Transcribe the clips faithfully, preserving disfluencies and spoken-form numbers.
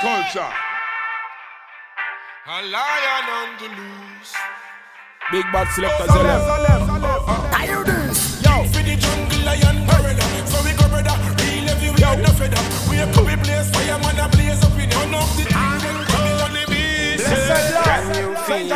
culture. A lion on the loose. Big bad selector, Zelle. I hear this. Yo, for the jungle lion gorilla. So we go brother, real every we are no feather. We a couple blaze, fireman a blaze up in one of the angel coming on the beast. Can you feel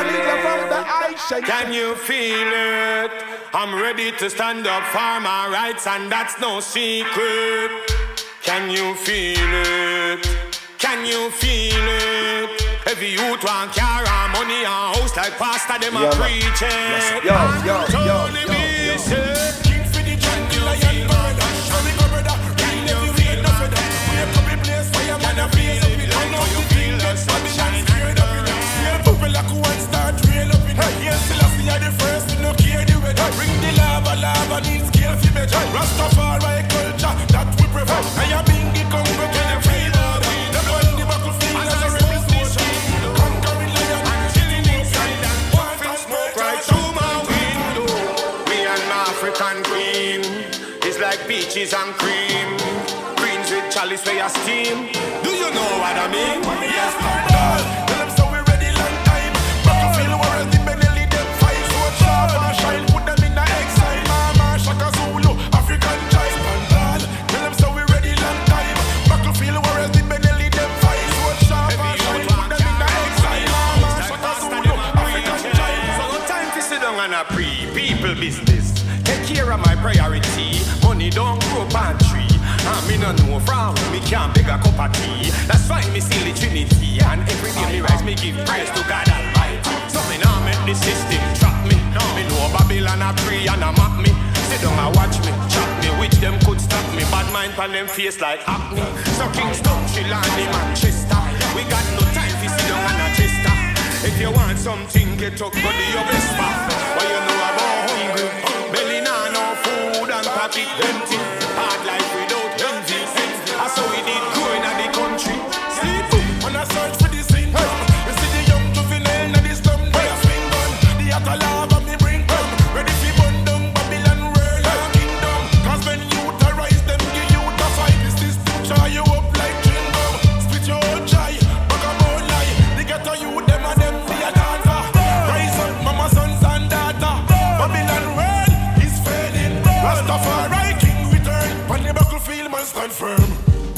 it? Can you feel it? I'm ready to stand up for my rights and that's no secret. Can you feel it? Can you feel it? Every youth want car and money and house like pastor them a preach it. Yo, yo, yo, yo, yo. King for the jungle lion burner. Show me go brother, real every we ain't no feather. We a couple place fireman a blaze up in. I know you feel that Babylon scared up in. Real people like who want start real up in. Yes, Selassie are the first to no care the weather. Bring the lava, lava needs scale for better. Rastafari culture that we prefer. I am in the Congo, can you feel that? The blood in the battlefield as a rebel soldier. Conquering lion and chilling inside and want and smoke right through my window. Me and my African queen is like peaches and cream. Greens with chalice where you steam. Do you know what I mean? Yes, Lord. Tell them so we ready long time. Battlefield warriors, the Benelli, them fight so sharp and shine. Put them in the exile. Mama, Shaka Zulu, African child. Tell them so we ready long time. Battlefield warriors, the Benelli, them fight so sharp and shine. Put them in the exile. Mama, Shaka Zulu, African child. So no time to sit down and a pre-people business. Take care of my priority. Money don't grow on tree. And me no know from me can't beg a cup of tea. That's why me see the Trinity. And every day me rise, me give praise to God Almighty. So me now make the system trap me. Me know Babylon a pray and a mock me. Sit down and watch me, chop me. Which them could stop me. Bad mind pan them face like acne. So Kingston, Chilani, Manchester. We got no time for sit down and a chester. If you want something, get up, go to your best spot. What you know about hungry? Belly nah no food and pocket empty. Hard life without envy. That's how we did growing at the country. Sleep on a search for the sin. You see the young juvenile and the slum. They a swing gun. The atalava me bring come. Ready for bun down Babylon world and kingdom. Cause when you arise them, give you the fight. This is to try you up like chewing gum. Spit your own chai, back a bone lie. They get to you, them and them, the a dancer. Rise up, mama, sons and daughter. Babylon world is fading. Rastafari king return. On the battlefield man stand firm.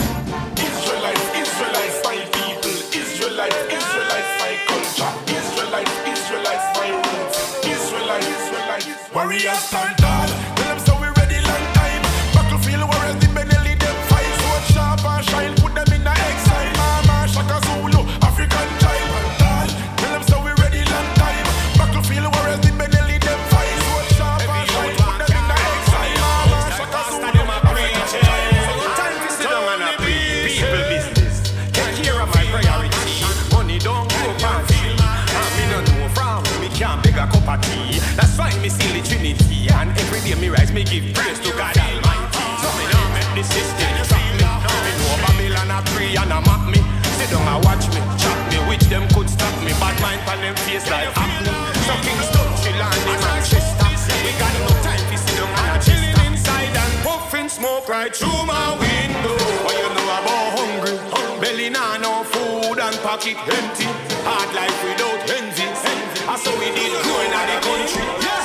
Israelites, Israelites, my people. Israelites, Israelites, my culture. Israelites, Israelites, my roots. Israelites, Israelites, warriors stand tall. Tell them so we ready long time. Battlefield warriors, the Benelli, them fight so sharp and shine. Put them in the exile. Mama, Shaka Zulu, African child. Tell them so we ready long time. Battlefield warriors, the Benelli, them fight so sharp and shine. Put them in the exile. Mama, Shaka Zulu, African child. So no time to sit down and a people business. Take care of my priority. Money don't go pan free. And me no know from me can't beg a cup of tea. That's why me see the Trinity. And every day me rise, me give praise to God Almighty. So me now make the system trap me. Me know Babylon a pray and a mock me. Sit down and watch me, chop me. Which them could stop me. Bad mind pan them face like acne. So Kingston, Chilani, Manchester. We got no time to sit down and chilling inside and puffing smoke right through my window. What you know about hungry? Belly nah no food and pocket empty. Hard life without envy. That's how we did growing at the country.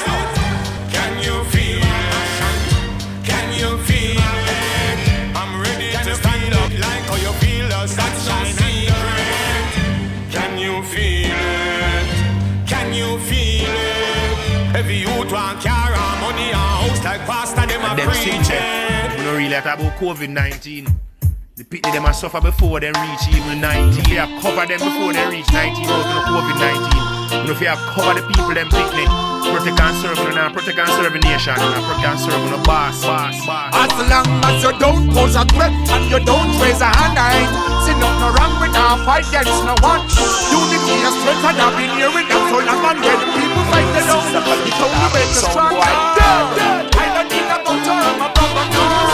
Can you feel it? Can you feel it? I'm ready to stand up like how you feel us. That's no secret. Can you feel it? Can you feel it? Every youth want car and money and house like pastor them a preach it. We don't really talk about COVID nineteen. The people them a suffer before they reach even nineteen. They have covered them before they reach nineteen out of COVID nineteen. You know if you have covered the people them picnic, protect and serve them now, protect and serve the nation, and protect and serve the boss, boss, boss. As long as you don't pose a threat and you don't raise a hand, I ain't see nothing wrong with our fight against no one. Unity is strength and I've been here with them so long and when people fight they don't. It's only way to strong. I don't need a motor, I'm a brother.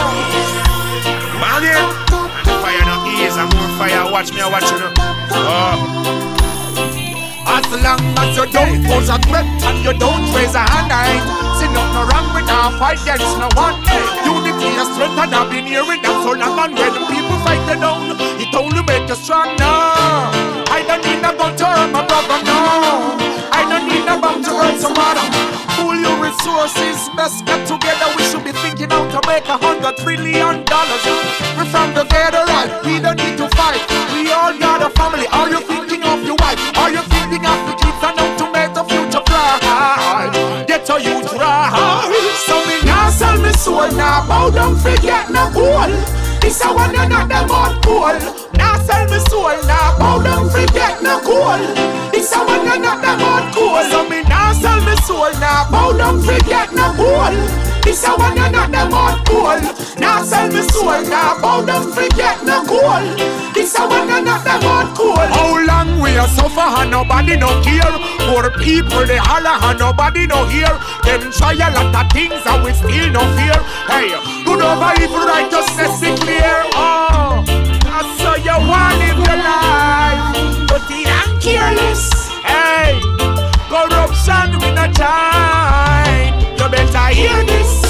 Man, yeah. Fire no ease, and more fire. Watch me, I watch you now. Oh. As long as you don't pose a threat and you don't raise a hand, I ain't see nothing wrong with our fight against no one. Unity Unity is strength and I've been hearing them so long. And when people fight you down, it only make you strong now. I don't need a gun to hurt my brother, no. I don't need a bomb to hurt some other. Pull your resources, best get together. We should be thinking how to make a hundred trillion dollars. We're from the federal, we don't need to fight. We all got a family. Are you thinking of your wife? Are you thinking of the kids and how to make the future bright? Get a youth right. So me now sell me soul, now bow down, forget no goal. This a one and not them on cool. Now sell me soul, now bow down, forget no goal. This a one and not them on cool. So me now sell me soul, now bow down, forget no goal. This a one and not them on cool. Now sell me soul, now bow down, forget no goal. This a one and not them on cool. How long we a suffer and nobody no care? Poor people they holler and nobody no hear. Them try a lot of things and we still no fear. Hey, good over evil righteousness be clear. Oh, I saw you want live your life, but the I'm careless. Hey, corruption with no time. You better hear this.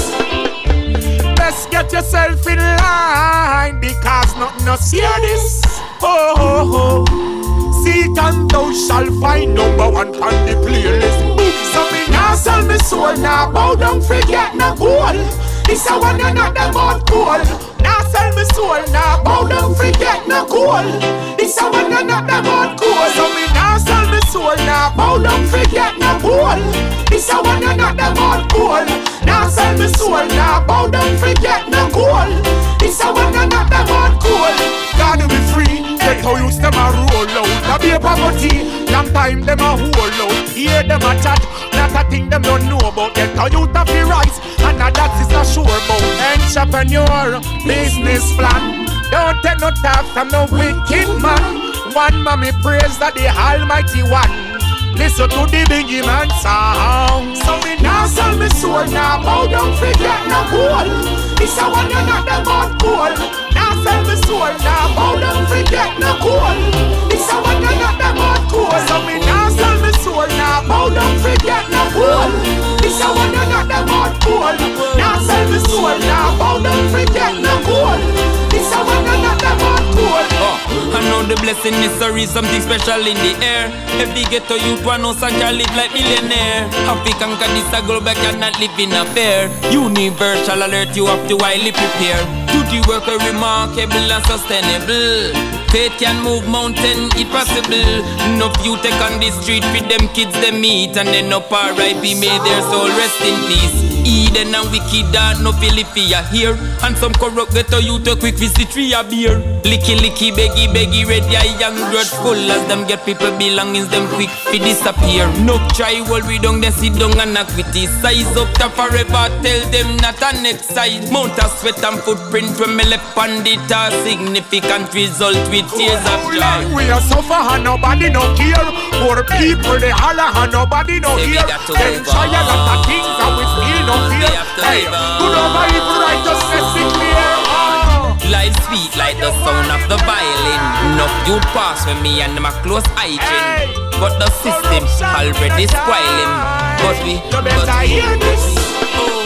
Best get yourself in line because nothing no scare this. Oh, oh, oh. Seek and thou shalt find number one on the playlist. So me now sell me soul, now bow down, forget no goal. This a one and not them on cool. Now sell me soul, now bow down, forget no goal. This a one and not them on cool. So me now sell me soul, now bow down, forget no goal. This a one and not them on cool. Now sell me soul, now bow down, forget no goal. This a one and not them on cool. Gotta be free, get how you them a roll out. Now be a poverty, long time them a hold out. Hear them a chat, not a thing them don't know about. Get how you have the rise, and now that is a sure about. Entrepreneur, business plan. Don't take no talk from no wicked man. One mommy praise that the Almighty One. Listen to the Biggie Man sound. So me now sell me soul, now bow down, forget no goal. This a one and not them on cool. Now sell me soul, now bow down, forget no goal. This a one and not them on cool. So me now sell me soul, now bow down, forget no goal. This a one and not them on cool. Now sell me soul, now bow down, forget no goal. This a one and not them on cool. Oh, I know the blessing is sorry, something special in the air. Every ghetto youth one knows I can live like millionaire. African can this a go back and not live in a fair. Universal alert, you have to widely prepare. Do the work a remarkable and sustainable. Faith can move mountain, it possible. Enough you take on the street with them kids they meet. And then up R I P may their soul rest in peace. Eden and wicked are no Philippia here. And some corrupt ghetto youth a quick visit three a beer. Licky licky beggy beggy ready a young grudgeful. As them get people belongings them quick fi disappear. No try while we don't they sit down and criticize. Up to forever tell them not an exercise. Mount a sweat and footprint when me left on it. A significant result with tears of joy. We are suffer and nobody no care. Poor people they holler and nobody no hear. Them try a lot of things and we still no fear. Hey, good over evil righteousness be clear. Life sweet like the sound of the violin. Enough you pass with me and my close hygiene. But the system already spoiling. But we, but we, oh.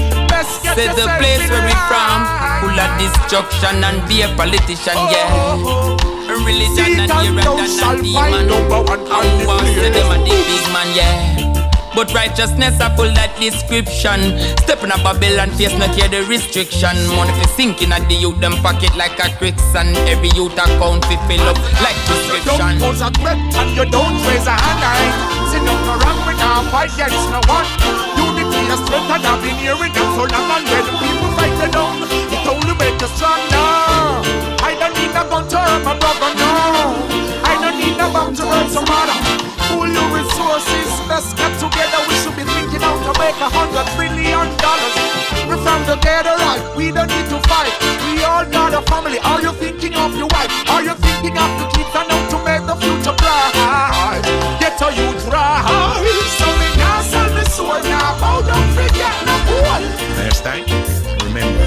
Say the place where we from, full of destruction and be a politician, yeah. Religion and irreligion and demon. And want say them a the big man, yeah. But righteousness a full that description. Step in a Babylon face not hear the restriction. Money fi sinking at the youth them pocket like a quicksand. Every youth account fi fill up like prescription. You don't pose a threat and you don't raise a hand. I see nothing wrong with our fight against no one. Unity is strength and I've been hearing them so long. And when people fight you down, it only make you stronger. I don't need a gun to hurt my brother, no. I don't need a bomb to hurt some other. Pull your resources, let's get together. We should be thinking how to make a hundred trillion dollars. We're from the ghetto, right? We don't need to fight. We all got a family. Are you thinking of your wife? Are you thinking of the kids and how to make the future bright? Get a youth right. So me now sell me soul, now bow down, forget no goal. Next time, remember,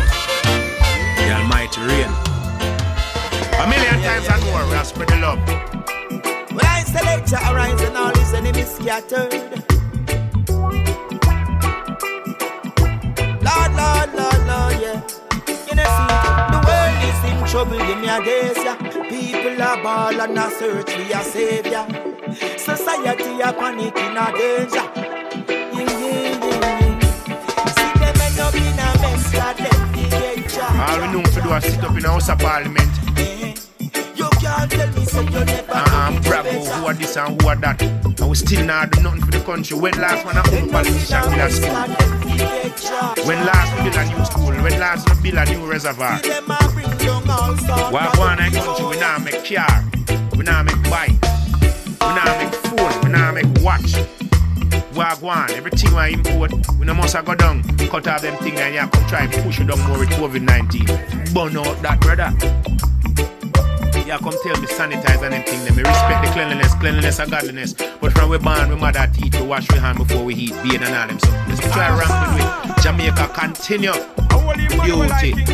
the Almighty reign. A million times and more, we have spread the love. When I select your arise and all his enemies scattered. Lord, Lord, Lord, Lord, yeah. trouble, give me a days, yeah. People are ball and a search for a savior. Society a panic in a danger. Yeah, yeah, yeah. See them end up in a mess, that them get charged. All we know to do is sit up in a House of Parliament. You can't tell me so you never I'm bravo, who are this and who are that. And we still not do nothing for the country. When last one I own politician build a school? When last we build a new school? When last we build a new reservoir? Why one I country we now make car, we now make bike, we now make phone, we now make watch. Wagwan, everything we import, we no must go down, cut off them things and you come try to push it down more with COVID nineteen. Burn out that brother. Yeah, come tell me sanitize and them things. Let me respect the cleanliness, cleanliness and godliness. But from we born, we mother teach to wash we hand before we eat, bathe and all them stuff. Let's try around with it. Jamaica continue. Beauty.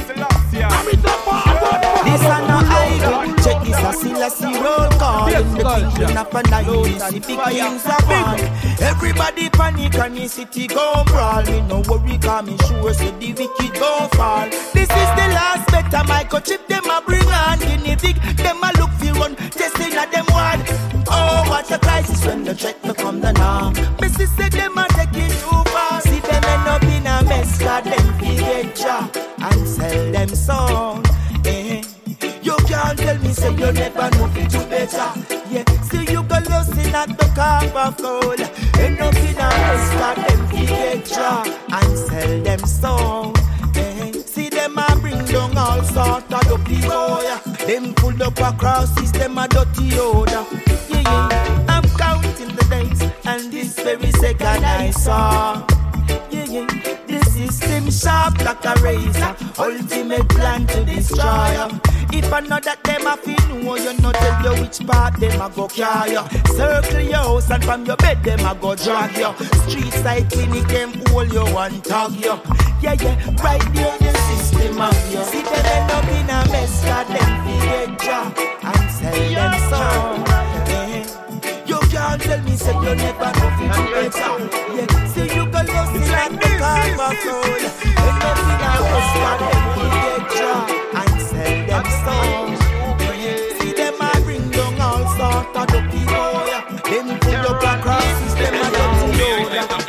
This are no idol. Check this a Selassie roll call. In the kingdom of a night, the big kings are born. Everybody panic and the city go brawl. Me no worry, cause me sure so the wicked go fall. This is the last better microchip them a bring on. Guinea pig, them a look for run, testing at them one. Oh, what a crisis when the threat become the norm. Missus said them a taking too far. See them end up in a mess, cause them get job and sell them song. Eh. You can't tell me say you never know it do better. Yeah, see you go losing at the cup of gold. End up in a mess, cause them get job and sell them song. Eh. See them a bring down all sort of dirty boy. Them pull up across system a dirty odor. Yeah, yeah, I'm counting the days and this very second I saw. Yeah, yeah, the system sharp like a razor. Ultimate plan to destroy. If I know that them a feel know, you know tell you which part them a go carry you. Circle your house and from your bed them a go drag you. Street side clinic them hold you and tag you. Yeah, yeah, right there the system of you. See them end up in a mess, cause them get job and sell them song. Yeah. You can't tell me say you never know if you better. Yeah, see you go lost in like the car of gold. End up in a mess, cause them get job and sell them song. Yeah. See them a bring down all sort of dirty boy. Them pull up across system a dirty road.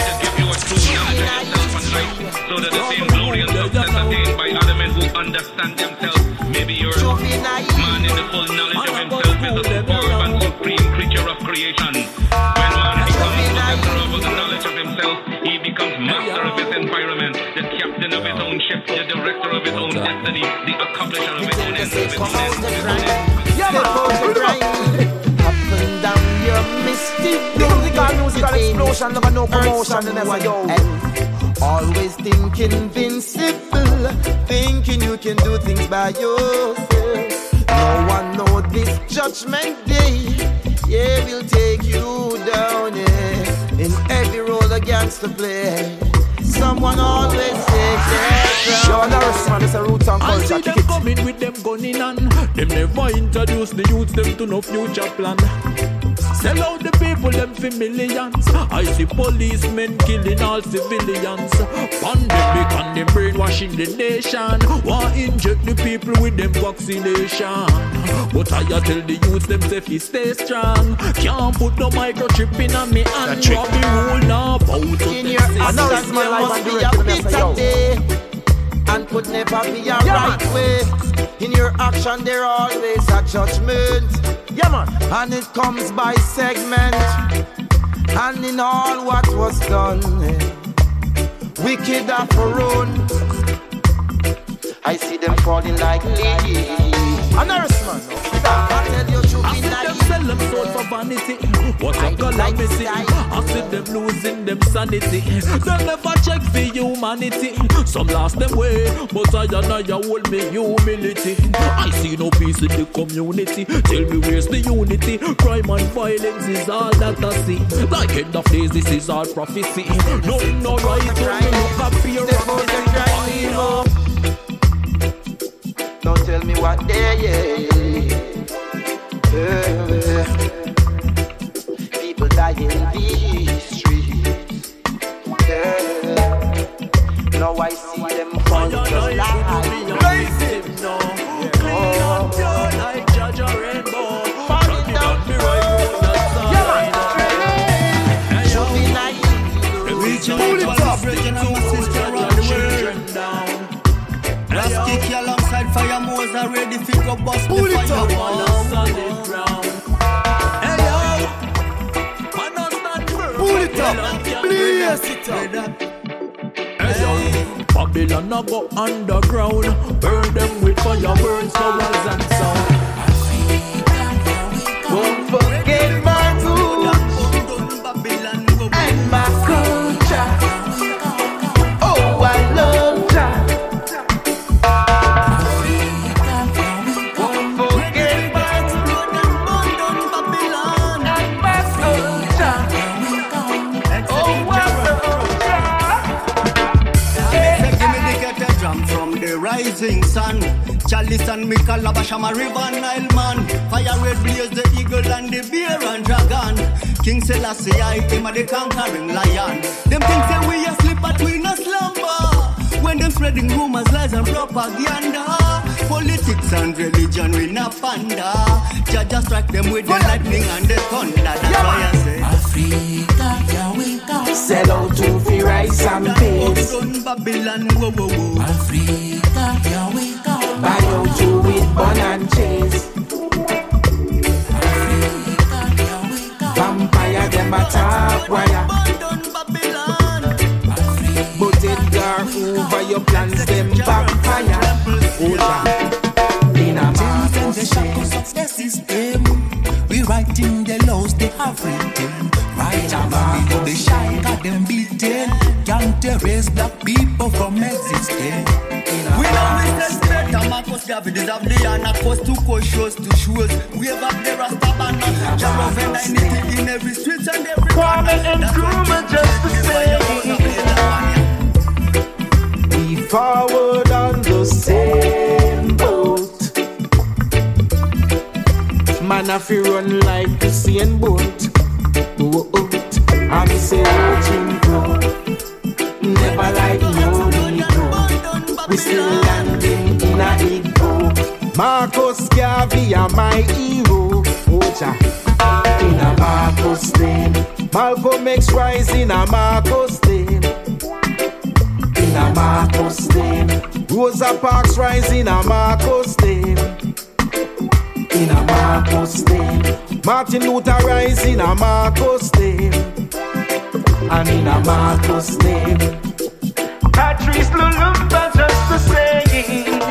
So that the same glory and success attained by other men who understand themselves. Maybe you're a man in the full knowledge of himself is a superb and supreme creature of creation. When man becomes possessor of the knowledge of himself, he becomes master of his environment, the captain of his own ship, the director of his own destiny, the accomplisher of his own ends, of his own ends, of his own ends. Step out the grind, up and down your mystic. Musical, musical explosion, never no promotion, and never yo. Always think invincible, thinking you can do things by yourself. No one knows this judgment day, yeah, will take you down, yeah. In every role against the play, someone always takes their Yo, Norris, man, it's a roots and I culture. see them coming with them gunning on. Them never introduce the youths them to no future plan. Sell out the people them for millions. I see policemen killing all civilians. Pandemic and them brainwashing the nation. Want inject the people with them vaccination. But I tell the youths them safety stay strong. Can't put no microchip in on me and drop the rule now. Bout in your actions there must be a bitter day, and could never be a right way. In your action there always a judgment. Yeah, man. And it comes by segment. And in all what was done, wicked are for own. I see them falling like leaves. A Norris, man. I tell you to I be see them naive. sell them soul for vanity. What a calamity. I see them losing them sanity. They never check for humanity. Some lost them way, but I and I hold me humility. I see no peace in the community. Tell me where's the unity? Crime and violence is all that I see. Like end of days, this is all prophecy. No, no right when me look up here. Don't tell me what they yeah. Yeah. People die in these streets. Yeah. Now I see them fall just like just kick you alongside fire Moses ready to go bust the fire wall. Solid ground. Hey yo, man don't stand firm. Pull it up, blaze it up. Hey yo, Babylon a go underground. Burn them with fire, burn flowers and sound. Won't forget my roots and my culture. Oh, I love that. Won't forget my roots and my culture. Oh, I love that. Give me the ghetto drum from the rising sun. Chalice and me calabash, I'm a river Nile man. Fire red blaze the eagle and the bear and dragon. King Selassie, I him a the conquering lion. Them things say we asleep but we no slumber. When them spreading rumors, lies and propaganda. Politics and religion we no panda. Jah just strike them with the lightning and the thunder. That's yeah, why I say Africa, here we go. Sell out to fi rice and peas. Babylon, whoa, whoa, whoa. Africa, here we go. Buy out to with bun and cheese. Africa, here we go. Vampire them a top wire. But it gar over your plans them backfire. Hold on. In a man the shackles of the system. We writing the laws they have written. Right about the shy got them beaten. Can't erase black people from existing. We know witness better. Marcus Garvey deserve the honor. Cost to coast, shows to shows. We have up the Rasta banner. Jarrah and ninety in every street and every corner. Kwame and Nkrumah just the same. We forward on the same boat. Man, if you run like Usain Bolt, oh, oh, I'm say watching go. Never like no ego. We still landing in a ego. Marcus Garvey are my hero. Ocha in a Marcus name. Malcolm X rise in a Marcus name. In a Marcus name. Rosa Parks rise in a Marcus name. In a Marcus name. Martin Luther rise in a Marcus name. And in a Marcus name. Patrice Lumumba just the same.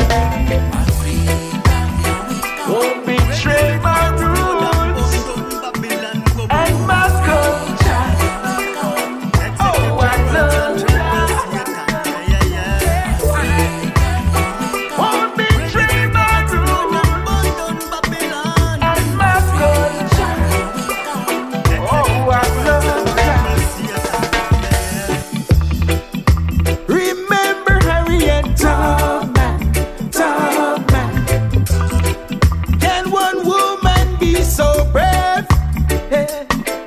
Won't betray my roots and my culture. Oh, I love that. Won't betray my roots and my culture. Oh, I love that. Remember Harriet Tubman, Tubman. Can one woman be so brave? Yeah.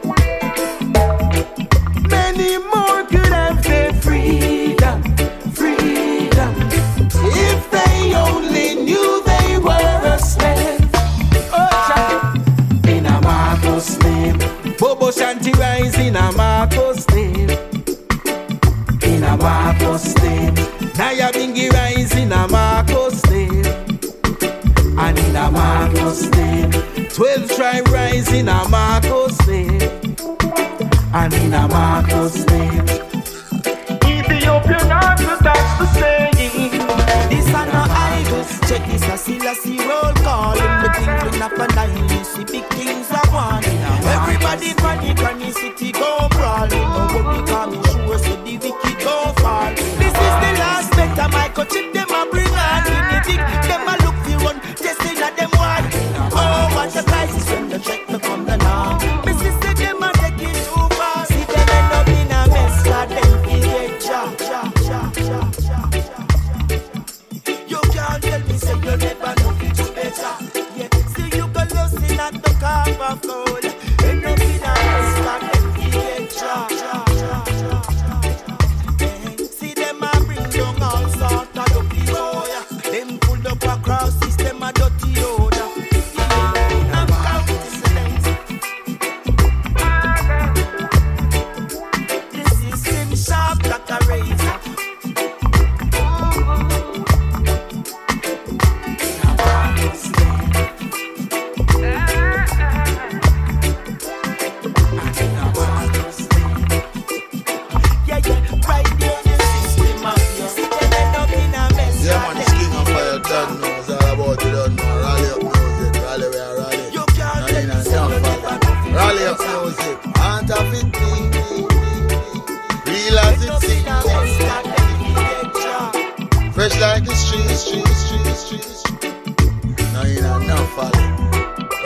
Many more could have their freedom, freedom. If they only knew they were a slave. Oh, in a Marcus name. Bobo Shanti rise in a Marcus name. In a Marcus name. Naya Bingi rise in a Marcus name. And in a Marcus name. Twelve tribe rise in a Marcus name. And in a Marcus name. Ethiopian answer, that's the saying. This are no idols. Check this a Selassie roll call. In the kingdom of a nine, you see big things are one. Everybody panic and the city go brawling. No worry, come and show us the wicked go fall. This is the last better microchip them a bring on. In the dick, them a look for run, testing at them one. Oh, what the crisis when the check me come the now. Missus say them a take it too far. See them end up in a mess, cause them feel get cha, cha, cha, cha, cha, cha. You can't tell me say you never know it to better. Yeah, still you go losing at the carve of gold. End up in a mess, cause them feel get cha, cha, cha, cha, cha. See them a bring down all sort of dirty boy. Them pull up across system a dirty odor.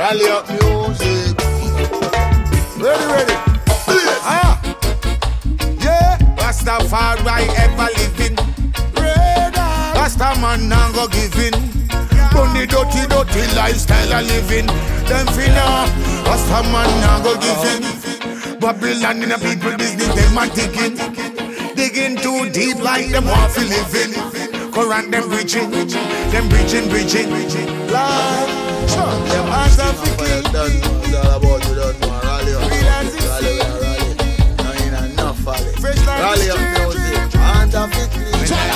Rally up music. Ready, ready. Ah. Yeah. Rastafari ever living. Rasta man now go giving. Bunny dirty, dirty lifestyle a living. Them finna. Rasta man now go giving. Babylon in a people business, them a digging. Digging too deep like them want to living. Correct them bridging, them bridging, bridging. Lord, them hands are for king. It's all about you don't know. Rally up, rally, rally. No, you know, enough rally. Rally up music, hands are for king.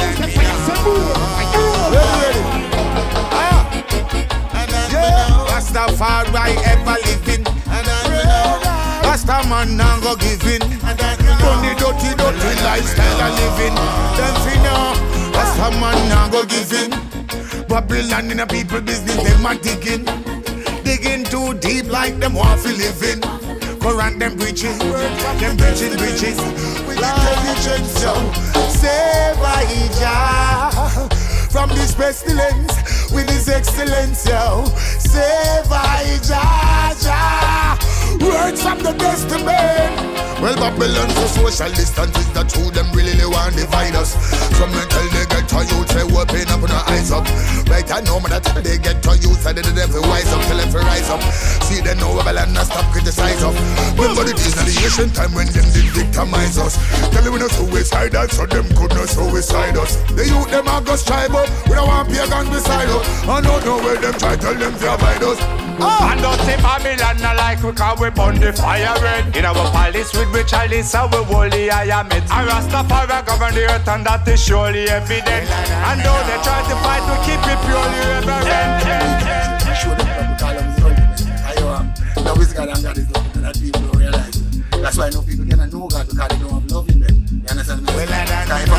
Ready, yeah, Rastafari ever living. Rasta man now go giving. Money dirty, dirty lifestyle a living. Them finna. Rasta man now go giving. Babylon in a people business, them a digging. Digging too deep like them want to living. Quran them preaching, them preaching, preaching. Religion so save Elijah from this pestilence with his excellence, yo. Save Elijah. Words from the Testament. Well, Babylon's a socialist and it's the truth. Them really want to divide us. Some men tell they get to youth, say open up and eyes up. Right, I know man that they get to youth, say they them for wise up, tell them for rise up. See they know Babylon and stop criticize us. Remember the days of the ancient time when them did victimize us. Tell them we no suicidal, so them could not suicide us. The youth them are go strive up, we don't want pagans beside us. I don't know where them try tell them to avoid us. Oh. And don't say Babylon not like we cause we burn the fire red. In our palace with we chalice and we holy I am it. And Rastafari govern the earth and that is surely evident. And though they try to fight we keep it purely reverent. I show them that we call them the ultimate. I know now is God and God is love and that people don't realize it. That's why no people cannot know God because they don't have love in them. You understand me? Well, I don't know.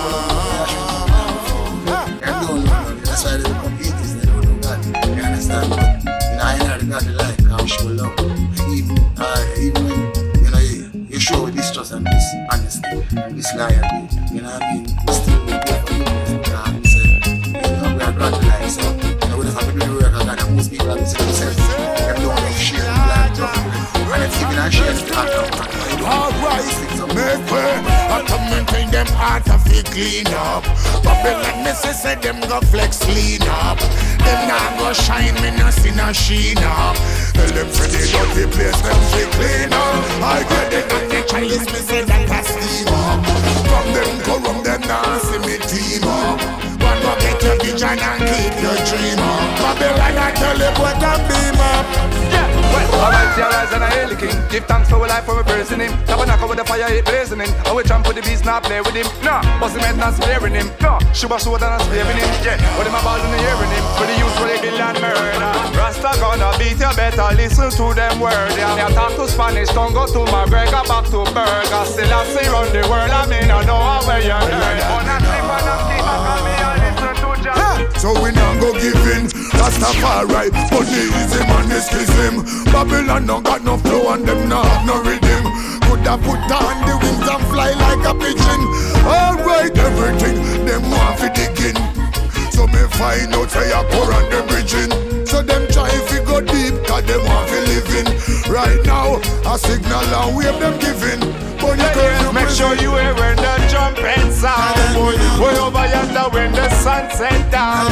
Them don't know love. That's why they become atheists, they don't know God. You understand me? I know the God they like, how show love. Even, uh, even when, you know, you, you show distrust and this honesty and this loyalty, you know what I mean? We still will pay for you because we say, you know, we are God to like, so, you know, we just have to do the work of God and most people have to say themselves, them don't have share and plan to and it's even a share to talk about. Alright, make way, I come maintain them heart of it clean up. Babylon me say say them go flex clean up. Them now go shine, me no see no sheen up. Tell them for the dirty place, them fi clean up. I get it at the Chinese, me say that a steam up. From them go rum, them now see me team up. One go get your vision and keep your dream up. Babylon I tell you what and beam up. Yeah, well, alright, see arise and I hail the king. Give thanks for our life, for we praising him. Tabernacle with the fire, it blazing in. And we jump with the beast, not play with him. No, boss him head, not sparing him. No, Shuba Soda, not sparing him. Yeah, what him about in the hearing him. For the youth, for the kill and murder. Rasta gonna beat you better, listen to them words. Yeah, I talk to Spanish, don't go to McGregor, back to Burger. Still I see run the world, I mean I know how where you're heard. But I sleep and I keep on coming and listen to Jah. So we now go giving Rastafari, but the easy man is kiss him. Babylon don't got no flow and them not have no rhythm. Coulda put on the wings and fly like a pigeon. Alright, everything them want fi digging. So me find out say I pour on the bridging. So them try fi go deep cause them want fi living. Right now a signal and wave them giving. But you yeah, make sure you hear when the trumpet sound. Way over yonder when the sun set down.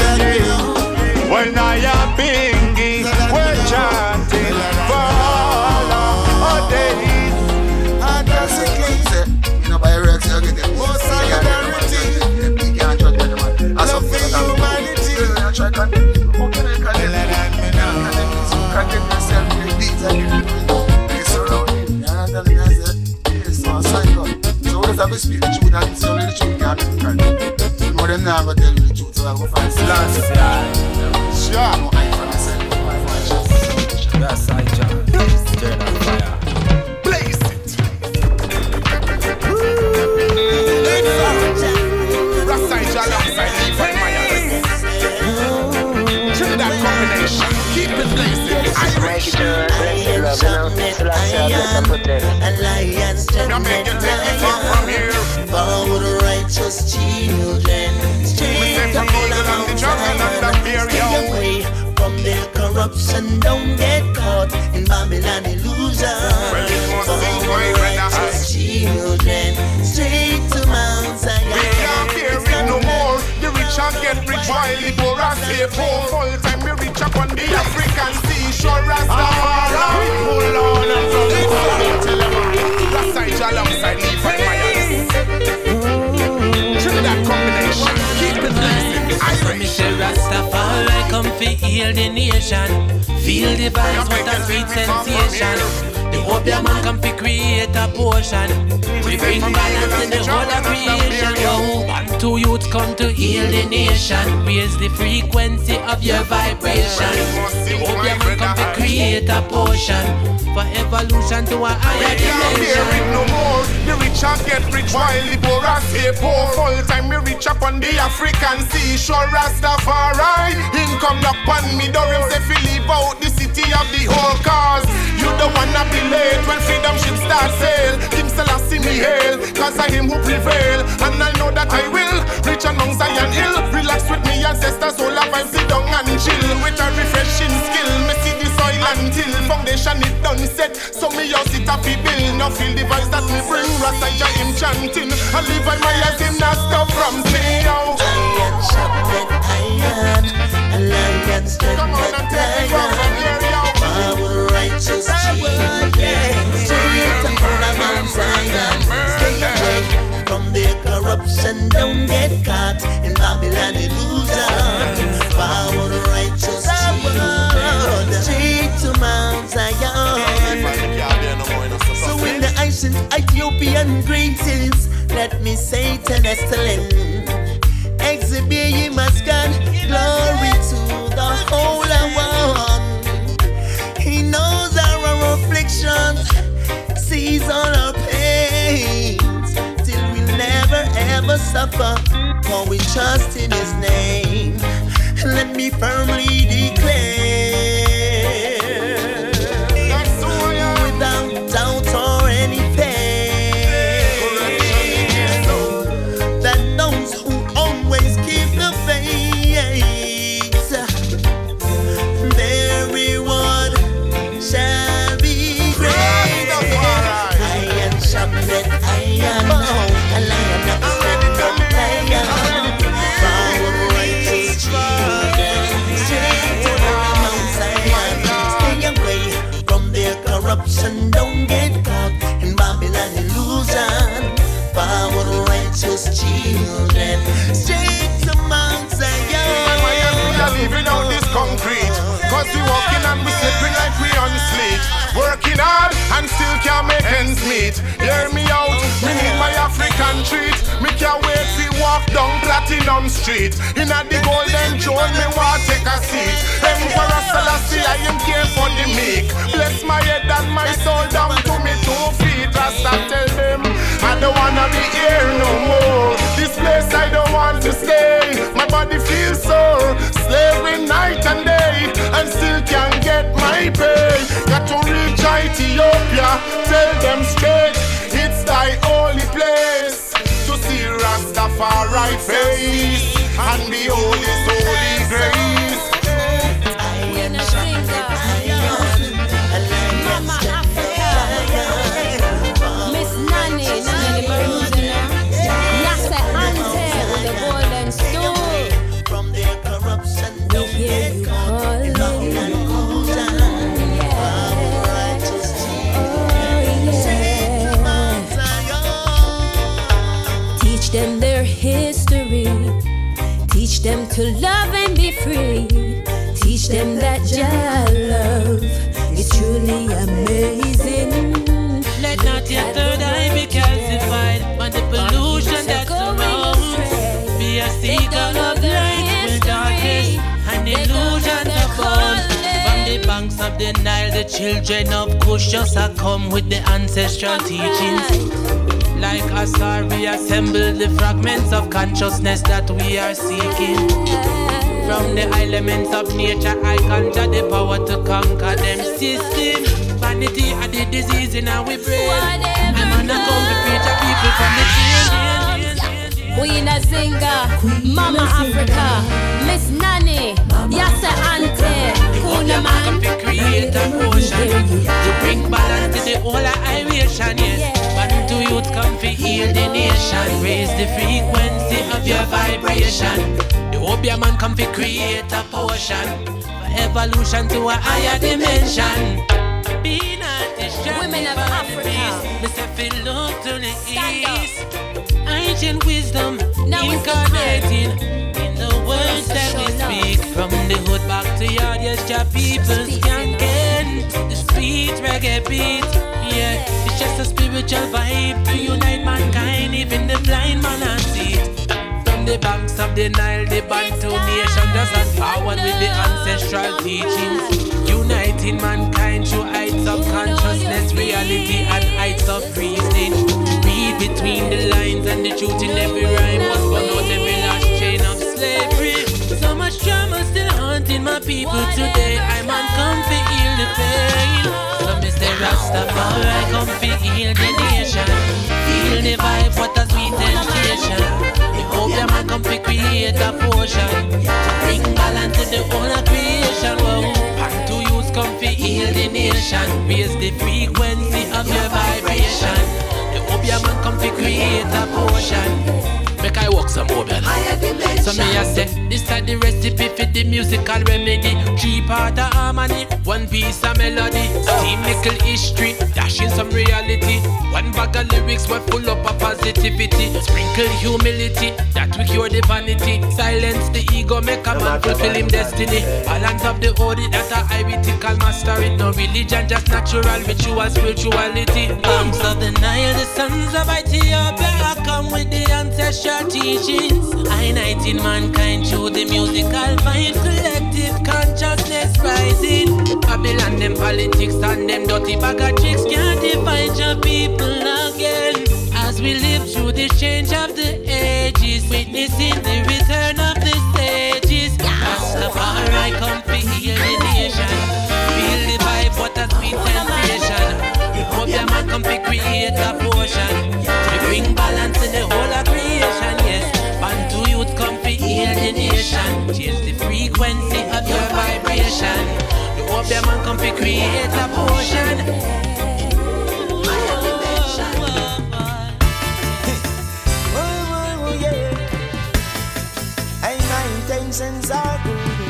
When I am Bingy, we're chanting for all our days. And that's it, you know, by Rex, you get it. More solidarity. You can't judge anyone. As of humanity. You try to condemn. How can I condemn you? You condemn yourself with the deeds that you do. You surround it. You understand me? I said, yes, so psycho. So what does that speak the truth? And say only the truth can't be different. You know them now, but tell you the truth, so I go find some. Sure. No, I for myself. That's I, John. Turn on fire. Blaze it. Rasta, John, outside, find my eyes. That combination. Keep it blazing. Irish. Alliance generation from here. For the righteous children. Straight up on the mountain. Stay away from their corrupt corruption don't get caught in Babylon illusion. For righteous children, straight to Mount Zion. We can't bear it no more. The rich and get rich while the poor are stay poor. Full time we reach up on the African seashore. Rastafari, hold on and tell them Rasta alongside me for Myers. Trinidad combination, keep it blessing. Irish. Rastafari come to heal the nation. Feel the vibes with a sweet sensation. The opium man come to create a potion. We bring balance in the whole of creation. Yo, one, two youths come to heal the nation. Raise the frequency of your vibration. The opium man come to create a potion for evolution to a higher dimension. No more, the rich and get rich while the poor are stay poor. Full time we reach up on the African seashore. Rastafari, him come knock on me door. Him say fi leave out the city of the whole cause. You don't wanna be late when freedom ship start sail. King Selassie me hail, cause I him who prevail. And I know that I will reach among Zion Hill. Relax with me ancestors, all I vibe, sit down and chill. With a refreshing skill, me see the soil until foundation it done set. So me just sit up the bill. Now feel the voice that me bring. Rasta him chanting. I live by my eyes, him not stop from saying out. Iron sharpened iron, a lion strengthened lion. Power righteous children, straight to Mount Zion. Stay away from their corruption, don't get caught in Babylon illusion. Power righteous children, straight to Mount Zion. So in the ancient Ethiopian greetings, let me say Telestalin, exhibit ye must God, glory to the Holy One. He knows our afflictions, sees all our pains, till we never ever suffer, for we trust in His name. Let me firmly declare, without doubt or any pain, that those who always keep the faith, their reward shall be great. Iron sharpened iron, a lion upstanding lion. Power righteous children, straight to Mount Zion. Stay away from their corruption, don't get caught in Babylon illusion. Power righteous children, straight to Mount Zion. We are living out this concrete, cause we walking and we slipping like we on sleet. Working hard and still can't make ends meet. Hear me out, we need my African treat. Me can't wait to walk down Platinum Street. In a the golden throne, me want take a seat. Emperor Selassie, I am care for the meek. Bless my head and my soul down to me two feet. Rasta tell them, I don't wanna be here no more. This place I don't want to stay. My body feels sore, slaving night and day, and still can't get my pay. Got to reach Ethiopia, tell them straight, it's thy holy place. To see Rastafari face and behold His holy grace. Iron sharpened iron, a lion strengthened lion. Miss Nanny, Nanny the Bermuda, Yasa Ante with the golden stool. From their corruption, don't get caught in Babylon illusion. Power righteous children, straight to Mount Zion. Teach them their history. Teach them to love and be free. Teach them that Jah love is truly amazing. Let not your third eye be calcified by the pollution that surrounds. Be a seeker of light with darkness and illusion to fall. From the banks of the Nile, the children of Kush just a come with the ancestral teachings. Like a star, we assemble the fragments of consciousness that we are seeking. From the elements of nature, I conjure the power to conquer them system. Vanity and the disease in our brain. I'm gonna come to preach a people from the chain. Queen Azinga, Mama Africa, Miss Nanny, Yasa Ante, Kuna Man heal the nation. Raise the frequency of your vibration. The Obia man come fi create a potion for evolution to a higher dimension. Be not distracted. Women of Africa. Me say fi look to the east. Ancient wisdom incarnating in the words that we speak. From the hood back to yard, yes, your people skanking the sweet reggae beat. Yeah, it's just a spiritual vibe to unite mankind. Even the blind man can see it. From the banks of the Nile, the Bantu nation just as forward with the ancestral teachings. Uniting mankind through heights of consciousness, reality and heights of reasoning. Read between the lines and the truth in every rhyme must burn out every last chain of slavery. So much drama still haunting my people today. I'm on come to heal the pain. So me say Rastafari come to heal the nation. Feel the vibe, what a sweet temptation. The hope your man come to create a potion to bring balance to the whole of creation. Whoa. And to use come to heal the nation. Raise the frequency of your vibration. The hope your man come to create a potion. Make I walk some more, man. So me I say, this is the recipe for the musical remedy. Three part of harmony, one piece of melody. Steam nickel history, dashing some reality. One bag of lyrics were full up of positivity. Sprinkle humility, that we cure the vanity. Silence the ego, make a man fulfill him destiny. Balance of the ode, that a iritical master it. No religion, just natural ritual spirituality. Banks of the Nile, the sons of Ethiopia, I come with the ancestral teachings. Uniting mankind through the musical vibe. Collective consciousness rising. Babylon, them politics and them dirty bag of tricks can't divide your people again. As we live through the change of the ages, witnessing the return of the sages. Rastafari come to heal the nation. Feel the vibe, what a sweet sensation. The hope your man come to create a potion to bring balance in the whole of creation, yes. Bantu youth come to heal the nation. Change the frequency of your vibration. The hope your man come to create a potion. Intentions are good,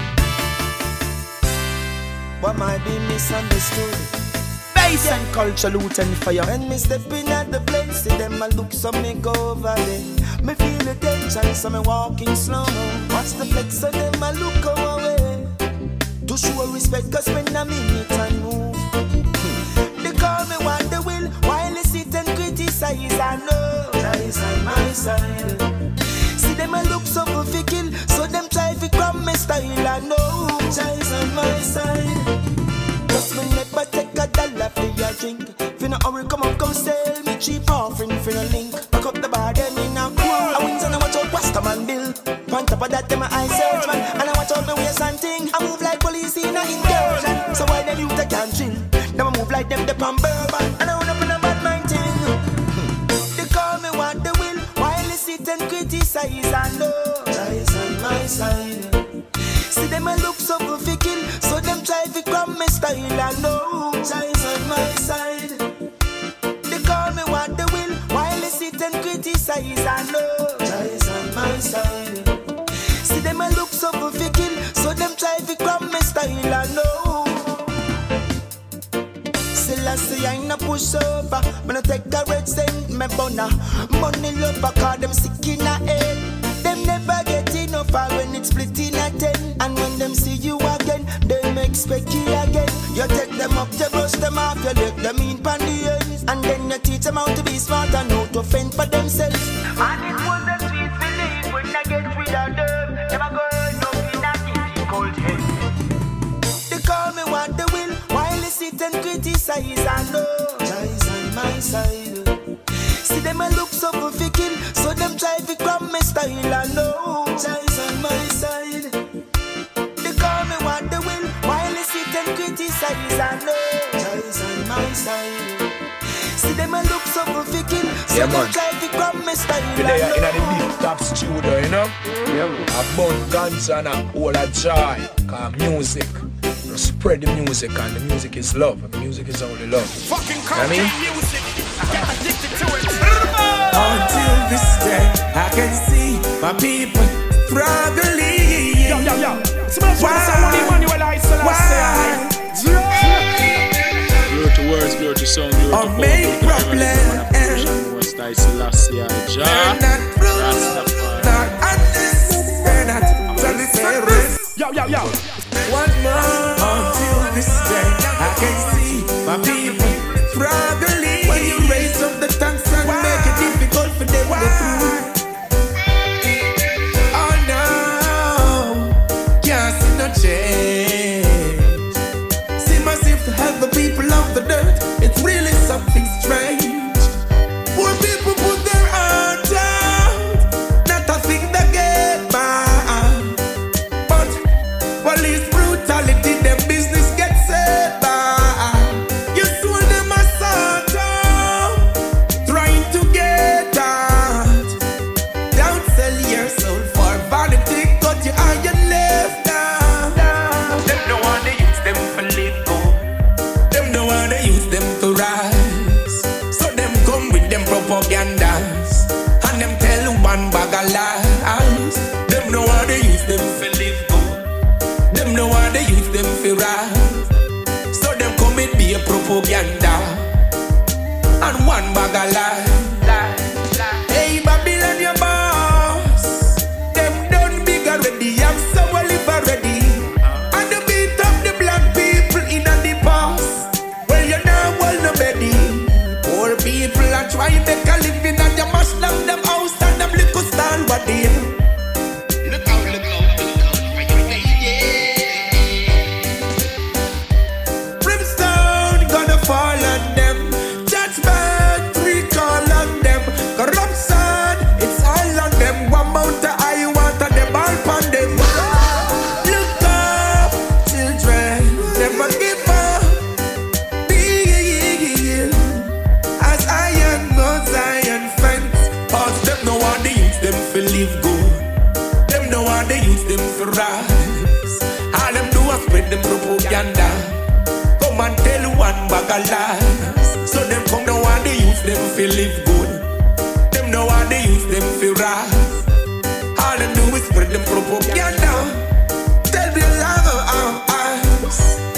but might be misunderstood. Bass and culture, loot and fire. When me step in at the place, see them a look, so me go over there. Me feel the tension, so me walking slow. Watch the flex, so them a look away. To show respect, cause when I'm in it and move, they call me what they will, while they sit and criticize. I know Christ on my side. See them a look so fickle, so them try to come my style. I know Christ on my side. Just me never take a dollar for your drink. If you not hurry, come up, come sell me cheap offering for a link. Back up the bar, then in a cool. I wins and I watch out Wasta man bill. On top of that, them my eye search man. And I watch out my waist and thing. I move like police in a incursion. So why them youth they can't chill? Them I move like them they pan bourbon. And I run up in a bad mind thing. They call me what they will, while they sit and criticize. I know Christ on my side. See them a look so fickle, so them try to come my style. I know Christ on my side. They call me what they will, while they sit and criticize. I know Christ on my side. See them a look so fickle, so them try to come my style. I know. Still I say I ain't push over, but I take a red cent, me bona. Money love, cause them sick in a head. Them never get enough when it's split in a ten. And when them see you again, them expect you again. You take them up, you brush them off, you let them in pan the ends. And then you teach them how to be smart and how to fend for themselves. And it was a sweet feeling when I get rid of them. Never go up in a difficult head. They call me what they will, while they sit and criticize. I know Christ on my side. See them a look so fickle, so them try to grab my style. I know Christ on my side. They call me what they will, while they sit and criticize. I know Christ on my side. See them a look so fickle, so yeah, them try to grab my style. We there in the big top studio, you know. Yeah, a bun guns and a whole of joy. Cause music, you spread the music, and the music is love. And the music is only love. Fucking you know what I mean? music. Get addicted to it. this day, I can see my people struggling. Yo, yo, yo. Why? Why? Glory to words, glory to song, glory to power, make problem. West I Selassie, Jah. Not unnecessary, not Yo, yo, yo. One more until this day, I can see my people struggling. When you raise up the tanks and Why? Make it difficult for them Why? To through. Oh no, can't see no change. See myself to help the people of the dirt. It's really something strange. Poor people put their heart out, not a thing they get by. But police brutality, their business gets set by. You sold them a sort of, trying to get out. Don't sell your soul for vanity, cut your eye and left down. Them no want to use them for live good. Them no want to use them to rise. So them come with them propagandas, and them tell one bag of lies. Them no want to use them for live good. Them no want to use them for rise. So them come with be a propaganda, and one bag of lies. Hey Babylon, your boss. Them done big already, have someone live already. And they beat up the black people in the past. Well, you know, well, nobody. Poor people are trying to make a living, and you must love them house and them little style body. Look out, look out, look out, Brimstone gonna fall on them. Judgment recall on them. Corruption, it's all on them. One mount of high water, them all upon them. Look up, children, never give up. Be as iron goes iron fence. Cause them no want to use them for live good. Them no want to use them for rise. All them do is spread them propaganda. Come and tell one bag of lies. So them come no want to use them for live good. Them no want to use them for rise. All them do is spread them propaganda. Tell me love of our eyes.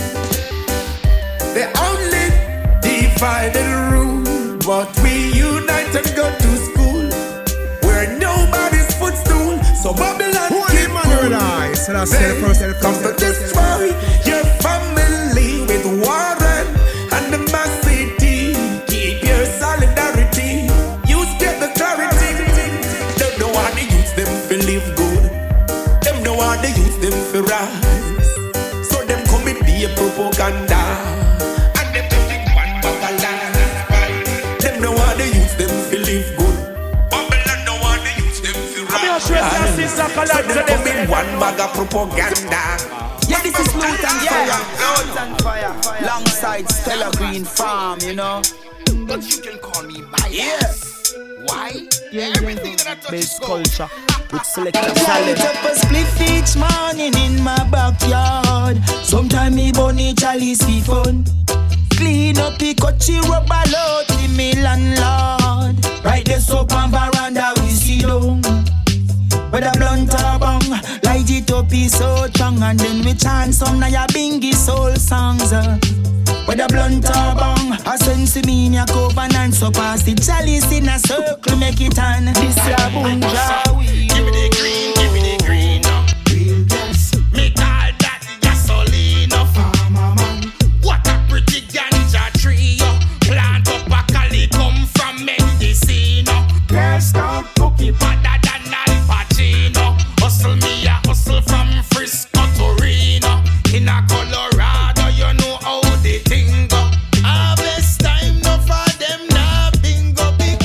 They only divide and rule, but we unite and go to school where nobody's footstool. So Babylon keep cool. So that's the first, the Come to destroy your family with Warren and the mass city. Keep your solidarity. Use get the clarity. Them no want to use them for live good. Them no want to use them for rise. So them come with be a propaganda. And them think one bag of lies. Them no want to use them for live good. Babylon no want to use them for rise. So them come with one bag of propaganda. Yeah, this is Loot and Fire. Loot and Fire. Alongside Stella Green Farm, you know. But you can call me my Yes. Why? Yeah, Everything that I touch is Base gold. culture with selector I salad. light up a spliff each morning in my backyard. Sometime me bunny chalice be fun. Clean up the coachy rubber load to me landlord. Right there soap and veranda we see down. With a blunt or bong, light it up is so strong. And then we chant some na ya bingy soul songs. uh. With a blunt or bong, a sense me in your covenant. So pass the chalice in a circle, make it on. This ya bunja weed. Give me the green, give me the green. Real gas. Me call that gasoline. Farmer man. What a pretty ganja tree. Plant up a cali come from medicine. Girls can't cook it better than Al Pacino. Hustle me a hustle from Frisco to Reno. In a Colorado, you know how the thing go. Harvest time, no for them nah bingo big.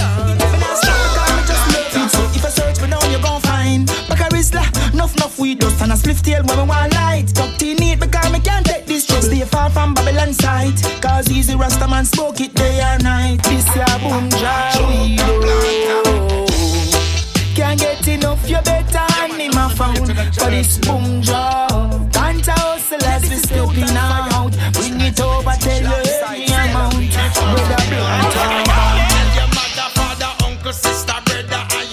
So if I search for now, you gon' find Bacarisla, nuff nuff weed dust and a spliff tail when we want light. Tucked in it because me can't take this trust. Stay far from Babylon sight. Cause easy Rasta man smoke it day and night. This ya bunja weed, oh. Can't get enough, you better hand him a phone for this bunja. Can't hustle as we stepping out. Bring it over, tell you any amount. With a blunt. Tell your mother, father, uncle, sister, brother, and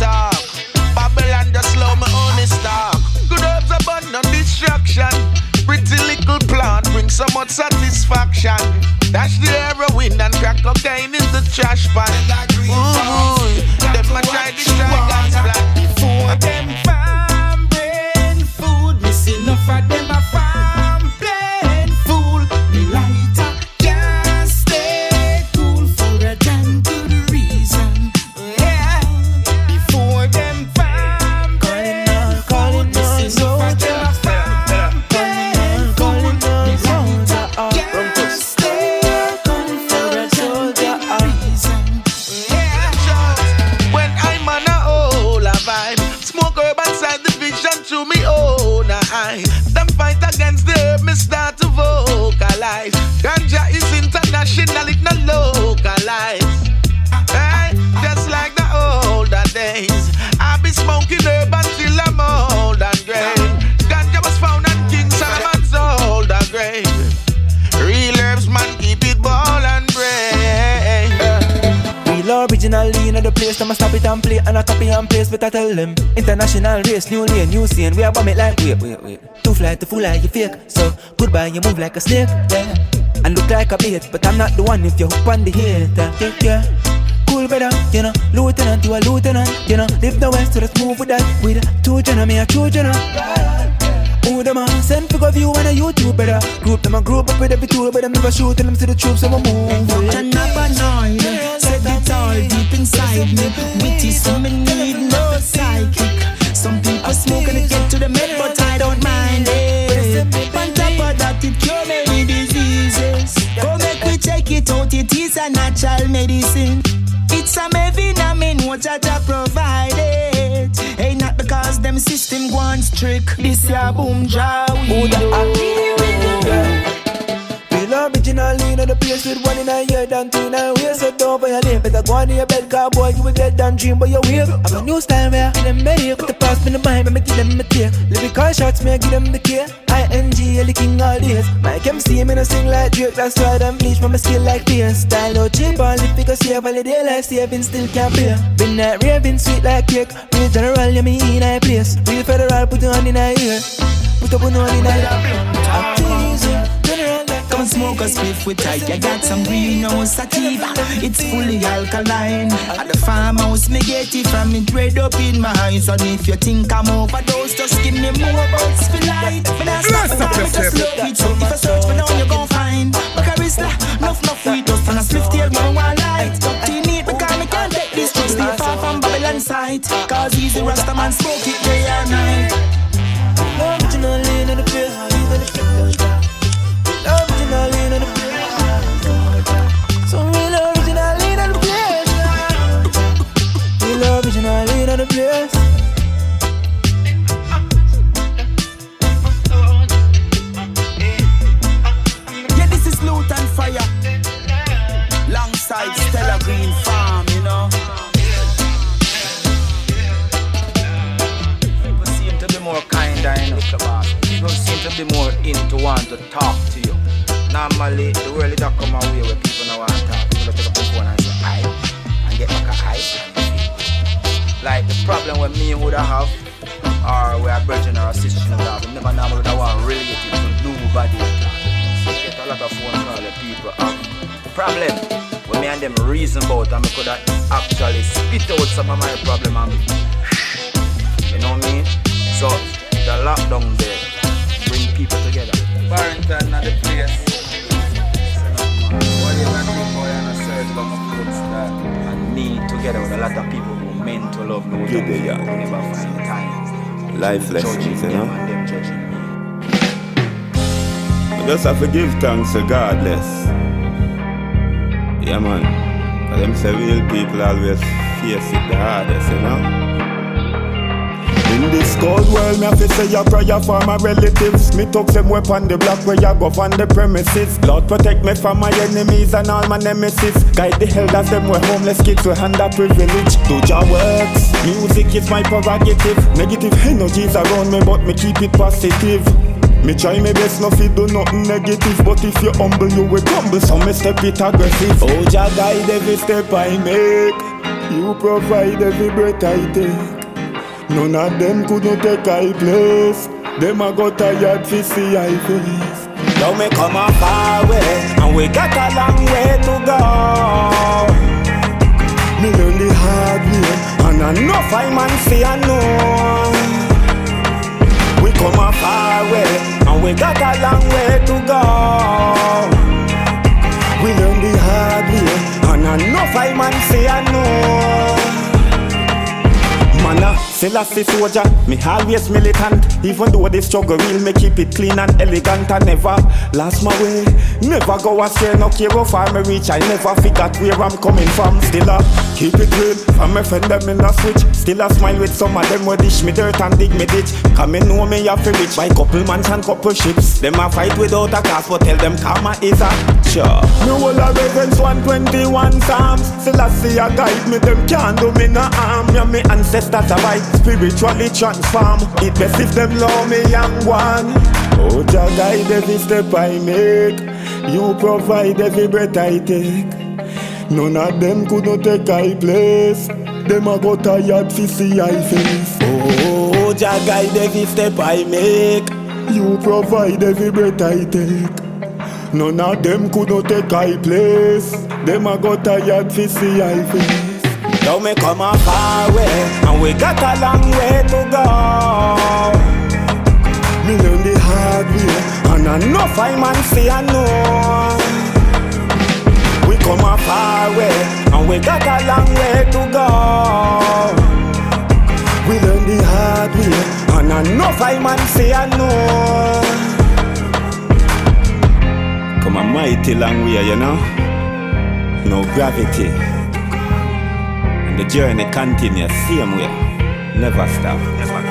talk. Babylon just slow my own stock. Good herbs abundant destruction. Pretty little plant brings so much satisfaction. Dash the heroin and crack cocaine in the trash pan. Ooh, them a try to strike and splat. Before them farm brain food, missing enough of them a farm plain fool. Me lighter can't stay cool for a damn good reason. Yeah, before them farm brain food, missing enough of them a farm plain fool. Me lighter can't stay cool for a damn good reason. When I'm on a whole a vibe, smoke herb inside the vision to me own eye. Them fight against the herb, me start to vocalize. Ganja is international, it not localized. Hey, just like the older days, I be smoking herb until I'm old and gray. Ganja was found on King Solomon's older grave. Real herbs, man, keep it ball and brain. Real originally in the place, I'ma stop it and play and I copy and paste, but I tell them international race, new lane, new scene. We are bomb it like wait, wait, wait. Too fly, too full like you fake. So goodbye, you move like a snake, yeah. And look like a bait, but I'm not the one if you hook on the hater, yeah, yeah. Cool brother, you know, lieutenant, you a lieutenant, you know. Live the west, so let's move with that. With two general, me a two general. Who them a send for view on a YouTube, brother. Group them a group up with every tool, but them never shoot them to the troops, so we move. And up annoyed, said it all deep inside me. Witty, so me need no psychic. Some people smoke and it get to the med, but I don't mind it. On top of that, it cure many diseases. Go make we check it out, it is a natural medicine. It's a vitamin, what Jaja provided. Ain't not because them system wants trick. This ya boom jaw. Who the act? Real originally in the place with one in a year than two in a way. So don't violate, better go on in your bed, car boy, you will get done dream by your wave. I have a new style where I give them better. Put the past in the mind, me give them the tear. Lyrical shots, me I give them the care. I N G, L king all days. Mike M C, me no sing like Drake. That's why them bleach from my skill like this. Style out cheap, all the figures save all the day life saving still can't pay. Been that raving sweet like cake. Real general, you me in a place. Real federal, put it on in a ear. Put up on in a ear. General, come and smoke a spliff with tight. You got some greenhouse sativa. It's fully alkaline. At the farmhouse, me get it from it red up in my eyes. And if you think I'm overdose, just give me more bucks for light. But I stop and I just look it. So if I search for down, you gon' find Bacarista, nuff nuff with us. And a spliff tail, man, one light. Teen it because me can't take this trip. Stay far from Babylon side. Cause he's the Rasta man, smoke it day and night. Originally in the place, originally in the place. So real originally in the place. Real originally in the place. Yeah, this is Loot and Fire. Longside Stella Green Farm, you know. People seem to be more kinder, you know. People seem to be more into want to talk to you. Normally, the world is not come away where people don't want to talk. People take up the phone and say, aye, and get back a aye. Like the problem with me would have, or where a virgin or a sister would have, we never normally would have want related to nobody. So you get a lot of phone calls that people have. The problem, when me and them reason about, and I could have actually spit out some of my problem and you know what I mean? So, the lockdown there bring people together. Barrington at the place. What you can do, boy, and a search long of goods that and me together with a lot of people who meant to love no Get there, yeah. who never find time. Life lessons, you know. And them judging me. I just have to give thanks regardless. Yeah, man. Cause them say real people always face it the hardest, you know. In this cold world, me have to say a prayer for my relatives. Me took them weapon the block where you go on the premises. Lord protect me from my enemies and all my nemesis. Guide the elders, them were homeless kids with under privilege. Do your works, music is my prerogative. Negative energies around me, but me keep it positive. Me try my best, no fit do nothing negative. But if you humble, you will crumble, so me step it aggressive. Oh, Jah guide every step I make. You provide every breath I take. None of them could not take I place. Them a got tired to see I face. Now me come a far way, and we got a long way to go. Me learn the hard way, and enough I man see I know. We come a far way, and we got a long way to go. We learn the hard way, and enough I man see I know. Man, Selassie soldier, me always militant. Even though the struggle real, me keep it clean and elegant. I never lost my way, never go astray. No care how far me reach, I never forgot where I'm coming from. Still a keep it real, from me friend them in a switch. Still a smile with some of them who dish me dirt and dig me ditch. Cause me know me have to reach by couple mans and couple ships. Them a fight without a cause, but tell them karma is a sure. Me will a reverence one twenty-one Psalms. Selassie a guide me, them can't do me no harm. Yeah, me ancestors a right, spiritually transform. It best if them love me young one. Oh, Jah guide every step I make. You provide every breath I take. None of them could not take I place. Them a got tired to see I face. Oh, Jah guide every step I make. You provide every breath I take. None of them could not take I place. Them a got tired to see I face. Now me come a far way, and we got a long way to go. Me learn the hard way, and enough I man see I know. We come a far way, and we got a long way to go. We learn the hard way, and enough I man see I know. Come a mighty long way, you know. No gravity. And the journey continues same way. Never stop. Never stop.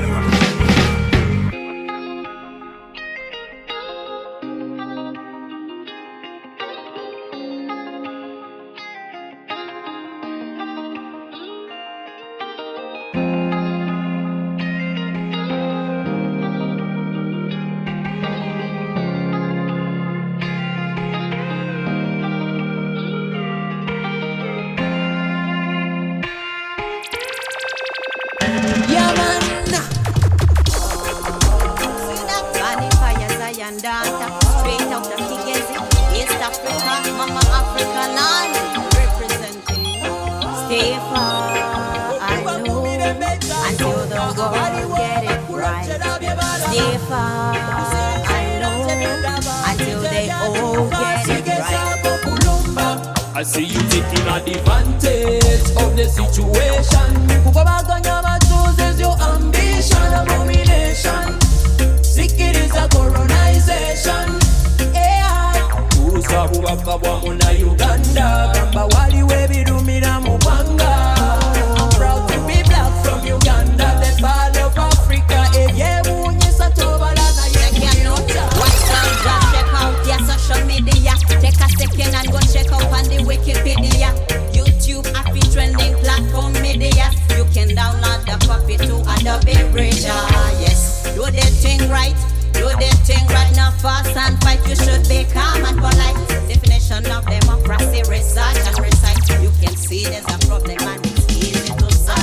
I see you taking advantage of the situation. Kupabaganya chooses your ambition, abomination. Sick it is a colonization. Yeah. Usabu wakabwa muna Uganda. Kamba wali webi dumira mupanga. I'm proud to be black from Uganda, the part of Africa. Eye munyesa tobala na yekianota. What's up, just check out your social media. Take a second and go check out on the Wikipedia. YouTube, happy trending platform media. You can download the copy to Adobe Reader. Yes, do the thing right, do the thing right. Now fast and fight, you should be calm and polite. Definition of democracy, research and recite. You can see there's a problem and it's easy to solve.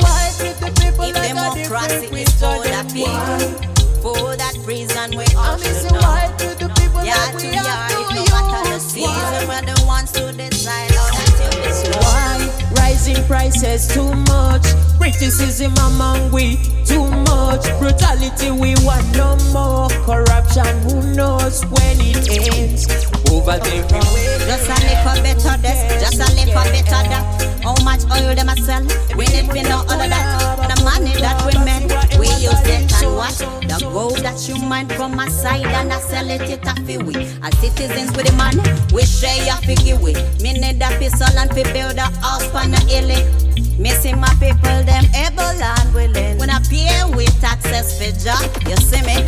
If democracy is for the people, for that reason we all should know. Yeah, to yard, it no matter the season, we're the ones to decide how that will be slow. Why rising prices too much? Criticism among we too much. Brutality we want no more. Corruption who knows when it ends. Over everywhere. Just a little better this, just a little better that. How much oil them a sell? We need to know all of that. The money that we make, we use it and what? The gold that you mine from my side and I sell it it a fi we. As citizens with the money, we share your figure we. Me need a pistol and fi build a house for the illy. Me see my people them able and willing. When I pay with taxes for job, you see me.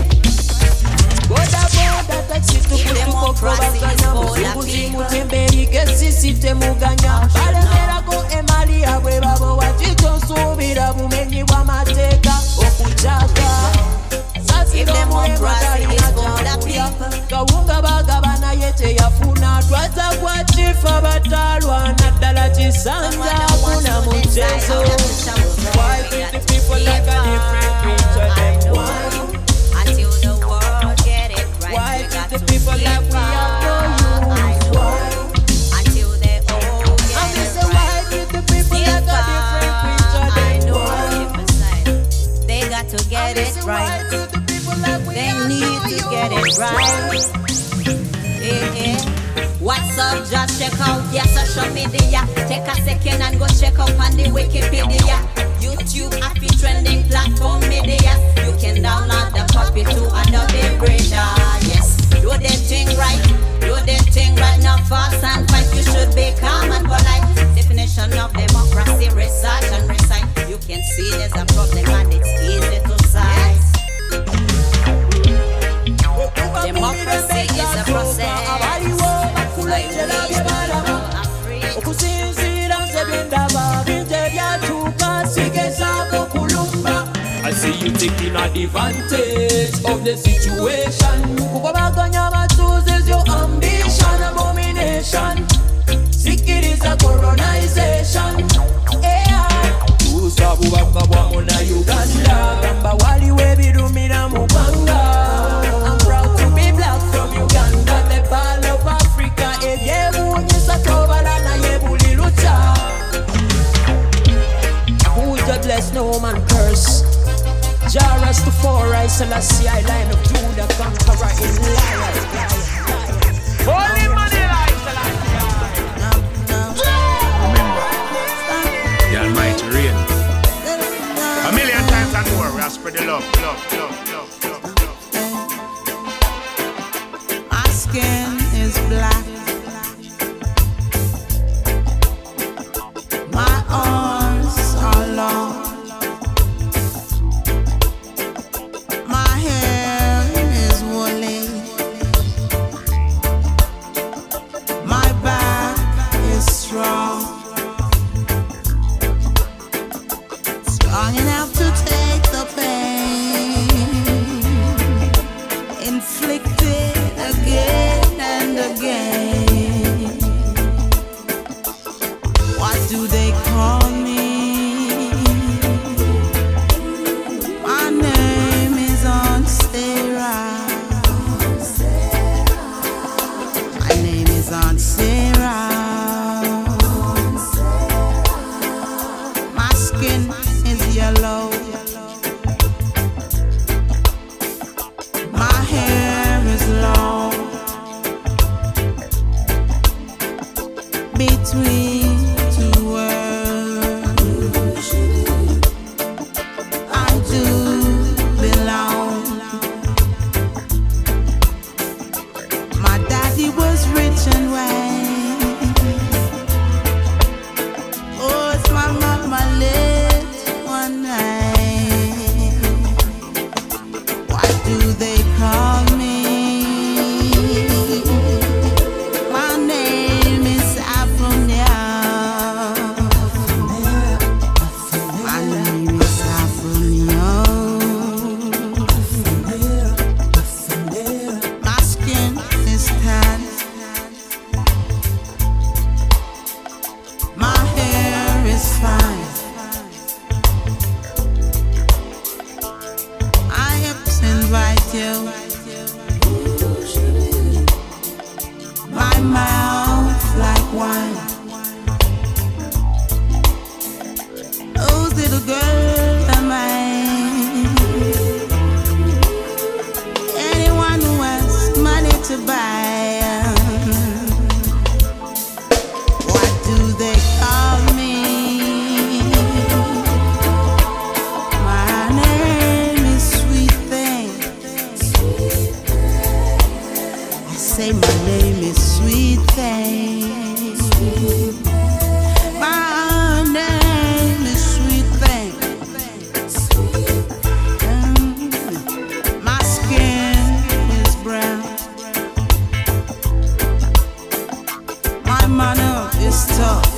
If democracy is for the people, mutembere muganya balekera ko emali abwe babo wachichosubira bumenyi bwa mateka okujaga. If democracy is for the people, kawunga bagabana yete yafuna twaza kwa chief fa battle one atalachi santa kuna mchezo. Why treat the people like a different creature them one? Until the world get it right. Why treat the people like we have no use? Why? Until they all get And it say why treat the people like a different creature them one? They got to get it right. They need to get it right. Eh, eh. What's up? Just check out your social media. Take a second and go check out on the Wikipedia. YouTube, happy trending platform media. You can download the copy to Adobe Reader. Yes, do the thing right. Do the thing right now, fast and fight. You should be calm and polite. Definition of democracy, research and recite. You can see there's a problem and it's easy to size. Democracy is a process. I see you taking advantage of the situation. Kukobaganya chooses your ambition, abomination. Sick it is a colonization. Yeah. Usabu bakabwa muna Uganda. Gamba wali webi dumina mubanga. I'm proud to be black from Uganda, the ball of Africa. Eyebu nyisa tobala na yebuli lucha. Who the bless, no man curse. Jah Rastafari, Selassie, Line of Judah, conqueror in life. Holy money life, Remember, the Almighty reign. A million times and more, we have spread the love, love, love, love, love, love. My skin is black. My arms are long. My hair is woolly. My back is strong. Strong enough to take the pain inflicted again and again. What do they call me? My name is Sarah. My name is Aunt Sarah. My skin is yellow. My hair is long. Between two worlds, I do belong. My daddy was rich and white. Oh, it's my mama lived one night. What do they call me? My name is Aphonia. My name is Aphonia. My skin is tan. My hair is fine. I hips invite you. My mouth like wine. Oh, little girl am I. Anyone who has money to buy. What do they call me? My name is Sweet Thing. I say my name is Sweet Thing. My name is Sweet Thing. Mm. My skin is brown. My manner is tough.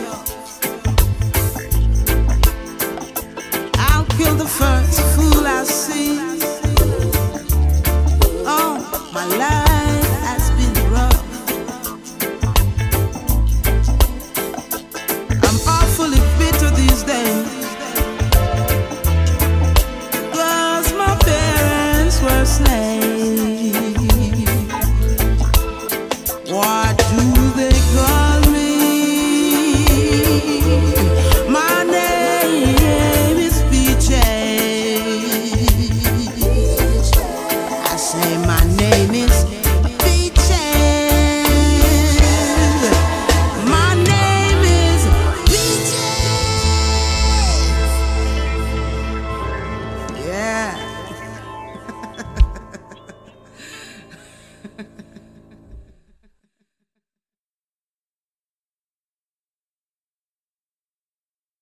I'll kill the first fool I see. Oh, my life.